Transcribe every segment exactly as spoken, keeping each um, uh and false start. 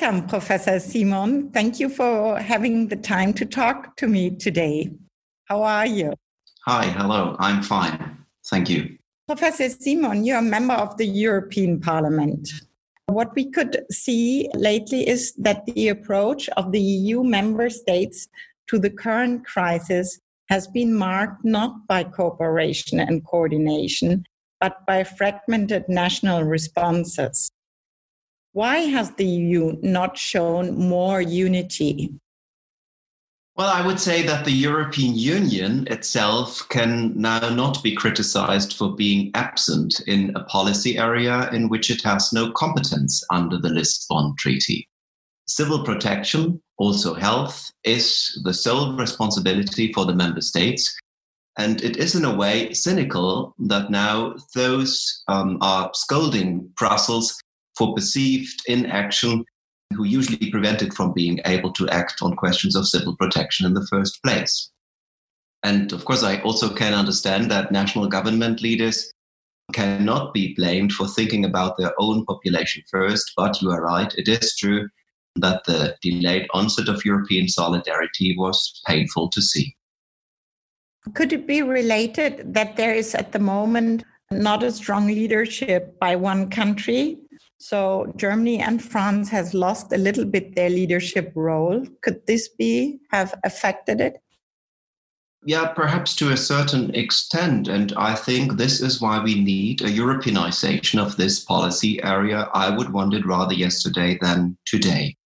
Welcome, Professor Simon. Thank you for having the time to talk to me today. How are you? Hi, hello. I'm fine. Thank you. Professor Simon, you're a member of the European Parliament. What we could see lately is that the approach of the E U member states to the current crisis has been marked not by cooperation and coordination, but by fragmented national responses. Why has the E U not shown more unity? Well, I would say that the European Union itself can now not be criticized for being absent in a policy area in which it has no competence under the Lisbon Treaty. Civil protection, also health, is the sole responsibility for the member states. And it is in a way cynical that now those um, are scolding Brussels for perceived inaction, who usually prevent it from being able to act on questions of civil protection in the first place. And of course, I also can understand that national government leaders cannot be blamed for thinking about their own population first, but you are right, it is true that the delayed onset of European solidarity was painful to see. Could it be related that there is at the moment not a strong leadership by one country? So Germany and France has lost a little bit their leadership role. Could this be have affected it? Yeah, perhaps to a certain extent. And I think this is why we need a Europeanization of this policy area. I would want it rather yesterday than today.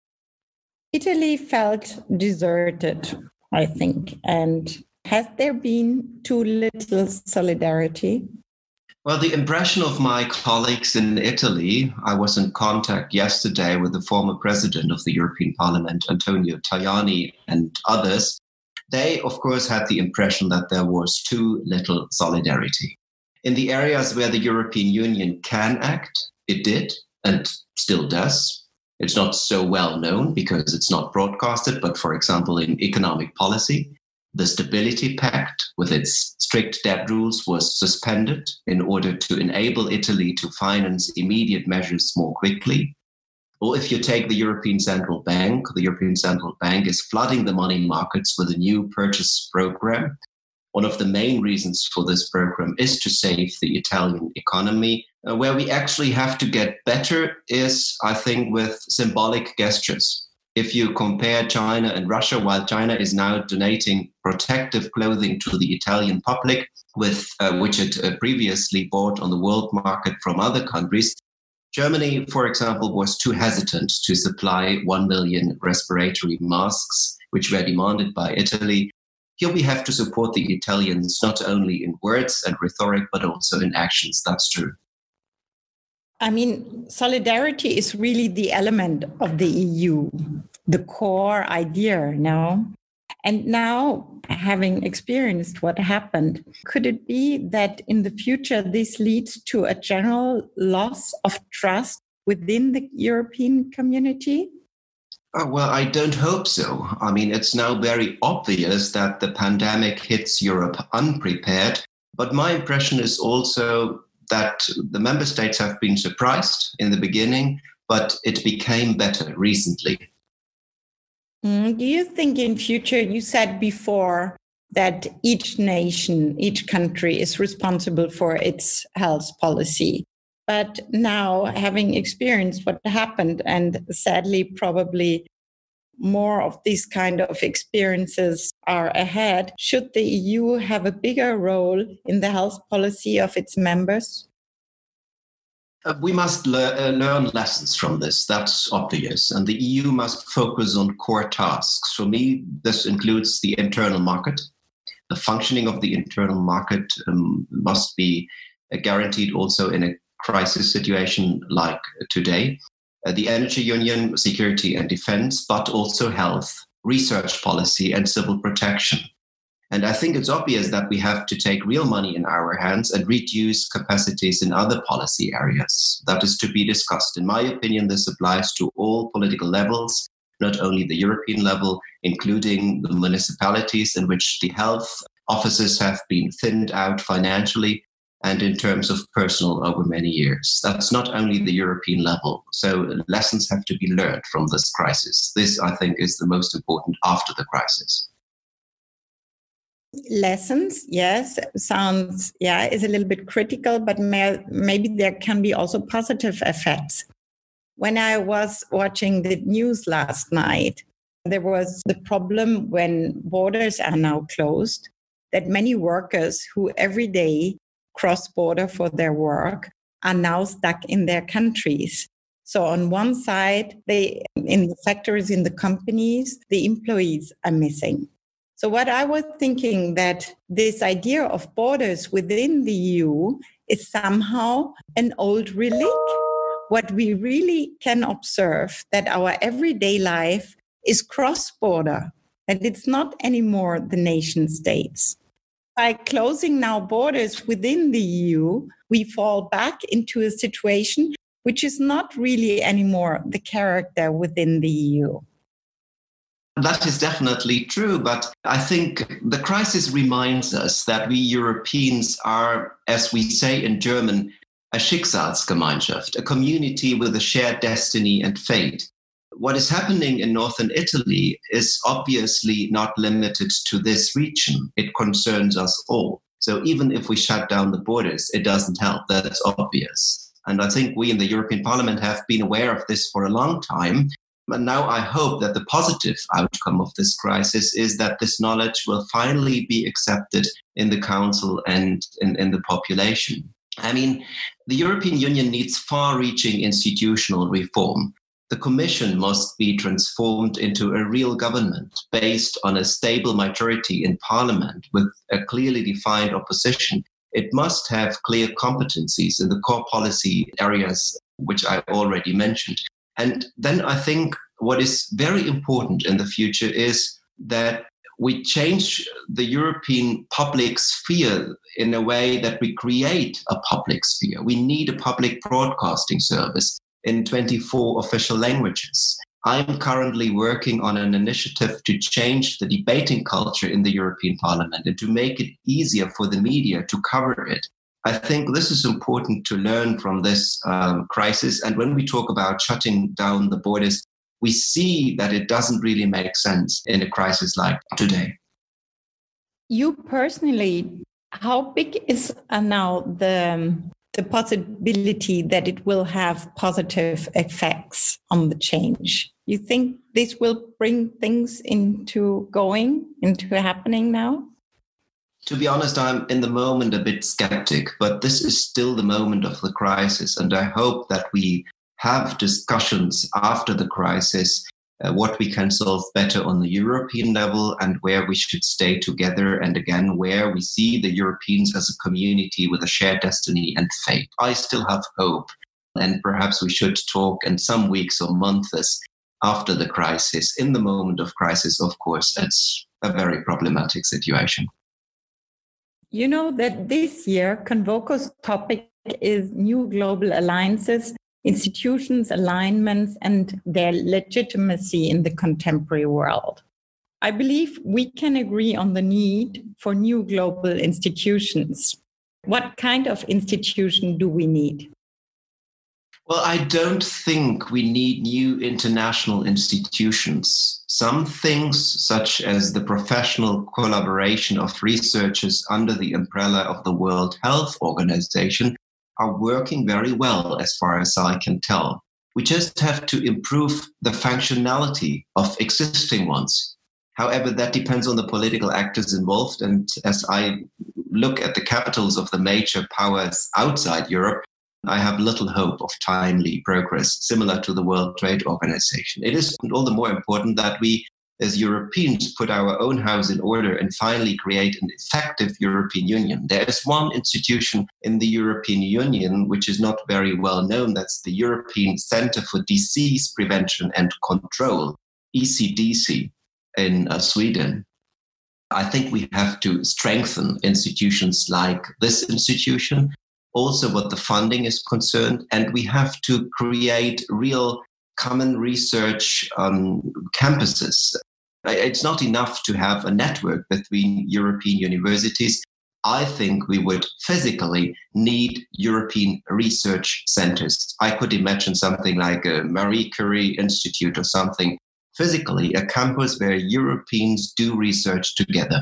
Italy felt deserted, I think. And has there been too little solidarity? Well, the impression of my colleagues in Italy, I was in contact yesterday with the former president of the European Parliament, Antonio Tajani, and others. They, of course, had the impression that there was too little solidarity. In the areas where the European Union can act, it did and still does. It's not so well known because it's not broadcasted, but for example, in economic policy, the Stability Pact, with its strict debt rules, was suspended in order to enable Italy to finance immediate measures more quickly. Or if you take the European Central Bank, the European Central Bank is flooding the money markets with a new purchase program. One of the main reasons for this program is to save the Italian economy. Uh, where we actually have to get better is, I think, with symbolic gestures. If you compare China and Russia, while China is now donating protective clothing to the Italian public, with uh, which it uh, previously bought on the world market from other countries, Germany, for example, was too hesitant to supply one million respiratory masks, which were demanded by Italy. Here we have to support the Italians not only in words and rhetoric, but also in actions. That's true. I mean, solidarity is really the element of the E U, the core idea, no? And now, having experienced what happened, could it be that in the future this leads to a general loss of trust within the European community? Oh, well, I don't hope so. I mean, it's now very obvious that the pandemic hits Europe unprepared. But my impression is also that the member states have been surprised in the beginning, but it became better recently. Mm, do you think in future, you said before that each nation, each country is responsible for its health policy. But now, having experienced what happened, and sadly, probably more of these kind of experiences are ahead, should the E U have a bigger role in the health policy of its members? Uh, we must le- uh, learn lessons from this. That's obvious. And the E U must focus on core tasks. For me, this includes the internal market. The functioning of the internal market um, must be uh, guaranteed also in a crisis situation like today. Uh, the energy union, security and defense, but also health, research policy and civil protection. And I think it's obvious that we have to take real money in our hands and reduce capacities in other policy areas. That is to be discussed. In my opinion, this applies to all political levels, not only the European level, including the municipalities in which the health offices have been thinned out financially. and in terms of personal over many years. That's not only the European level. So lessons have to be learned from this crisis. This, I think, is the most important after the crisis. Lessons, yes, sounds, yeah, is a little bit critical, but may, maybe there can be also positive effects. When I was watching the news last night, there was the problem when borders are now closed, that many workers who every day cross border for their work are now stuck in their countries. So on one side, they in the factories, in the companies, the employees are missing. So what I was thinking that this idea of borders within the E U is somehow an old relic. What we really can observe that our everyday life is cross-border, that it's not anymore the nation states. By closing now borders within the E U, we fall back into a situation which is not really anymore the character within the E U. That is definitely true, but I think the crisis reminds us that we Europeans are, as we say in German, a Schicksalsgemeinschaft, a community with a shared destiny and fate. What is happening in northern Italy is obviously not limited to this region. It concerns us all. So even if we shut down the borders, it doesn't help. That's obvious. And I think we in the European Parliament have been aware of this for a long time. But now I hope that the positive outcome of this crisis is that this knowledge will finally be accepted in the Council and in, in the population. I mean, the European Union needs far-reaching institutional reform. The Commission must be transformed into a real government based on a stable majority in Parliament with a clearly defined opposition. It must have clear competencies in the core policy areas, which I already mentioned. And then I think what is very important in the future is that we change the European public sphere in a way that we create a public sphere. We need a public broadcasting service in twenty-four official languages. I'm currently working on an initiative to change the debating culture in the European Parliament and to make it easier for the media to cover it. I think this is important to learn from this um, crisis. And when we talk about shutting down the borders, we see that it doesn't really make sense in a crisis like today. You personally, how big is uh, now the, the possibility that it will have positive effects on the change? You think this will bring things into going, into happening now? To be honest, I'm in the moment a bit skeptic, but this is still the moment of the crisis. And I hope that we have discussions after the crisis, uh, what we can solve better on the European level and where we should stay together. And again, where we see the Europeans as a community with a shared destiny and fate. I still have hope. And perhaps we should talk in some weeks or months after the crisis. In the moment of crisis, of course, it's a very problematic situation. You know that this year, Convoco's topic is new global alliances, institutions, alignments, and their legitimacy in the contemporary world. I believe we can agree on the need for new global institutions. What kind of institution do we need? Well, I don't think we need new international institutions. Some things, such as the professional collaboration of researchers under the umbrella of the World Health Organization, are working very well as far as I can tell. We just have to improve the functionality of existing ones. However, that depends on the political actors involved. And as I look at the capitals of the major powers outside Europe, I have little hope of timely progress, similar to the World Trade Organization. It is all the more important that we, as Europeans, put our own house in order and finally create an effective European Union. There is one institution in the European Union which is not very well known. That's the European Center for Disease Prevention and Control, E C D C, in uh, Sweden. I think we have to strengthen institutions like this institution, also what the funding is concerned, and we have to create real common research um, campuses. It's not enough to have a network between European universities. I think we would physically need European research centers. I could imagine something like a Marie Curie Institute or something. Physically, a campus where Europeans do research together.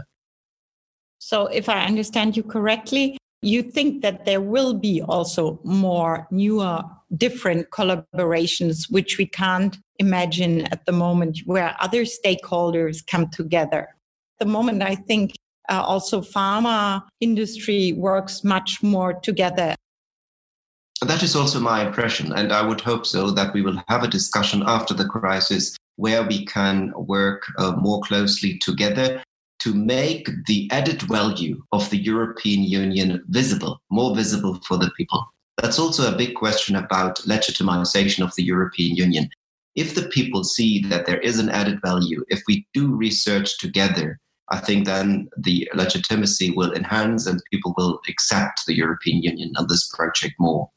So if I understand you correctly, you think that there will be also more newer, different collaborations, which we can't imagine at the moment, where other stakeholders come together. At the moment, I think uh, also pharma industry works much more together. That is also my impression, and I would hope so, that we will have a discussion after the crisis where we can work uh, more closely together to make the added value of the European Union visible, more visible for the people. That's also a big question about legitimization of the European Union. If the people see that there is an added value, if we do research together, I think then the legitimacy will enhance and people will accept the European Union and this project more.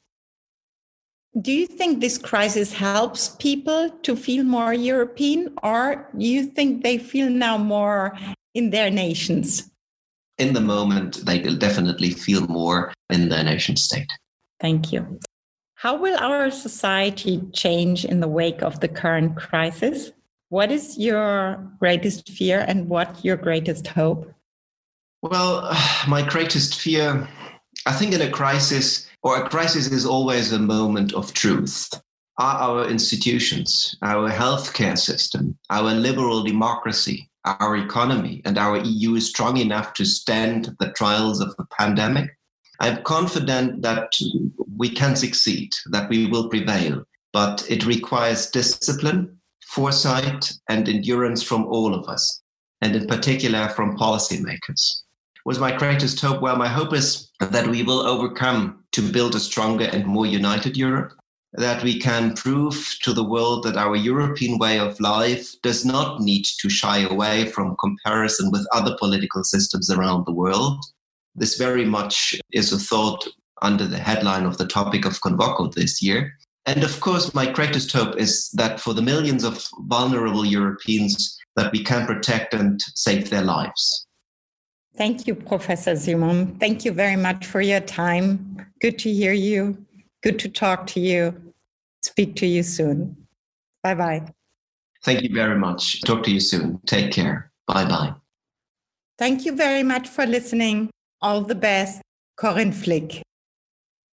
Do you think this crisis helps people to feel more European, or do you think they feel now more in their nations? In the moment, they will definitely feel more in their nation state. Thank you. How will our society change in the wake of the current crisis? What is your greatest fear and what your greatest hope? Well, my greatest fear, I think in a crisis, or a crisis is always a moment of truth. Are our institutions, our healthcare system, our liberal democracy, our economy, and our E U strong enough to stand the trials of the pandemic? I'm confident that we can succeed, that we will prevail, but it requires discipline, foresight, and endurance from all of us, and in particular from policymakers. Was my greatest hope? Well, my hope is that we will overcome to build a stronger and more united Europe, that we can prove to the world that our European way of life does not need to shy away from comparison with other political systems around the world. This very much is a thought under the headline of the topic of Convoco this year. And of course, my greatest hope is that for the millions of vulnerable Europeans, that we can protect and save their lives. Thank you, Professor Simon. Thank you very much for your time. Good to hear you. Good to talk to you. Speak to you soon. Bye-bye. Thank you very much. Talk to you soon. Take care. Bye-bye. Thank you very much for listening. All the best. Corinne Flick.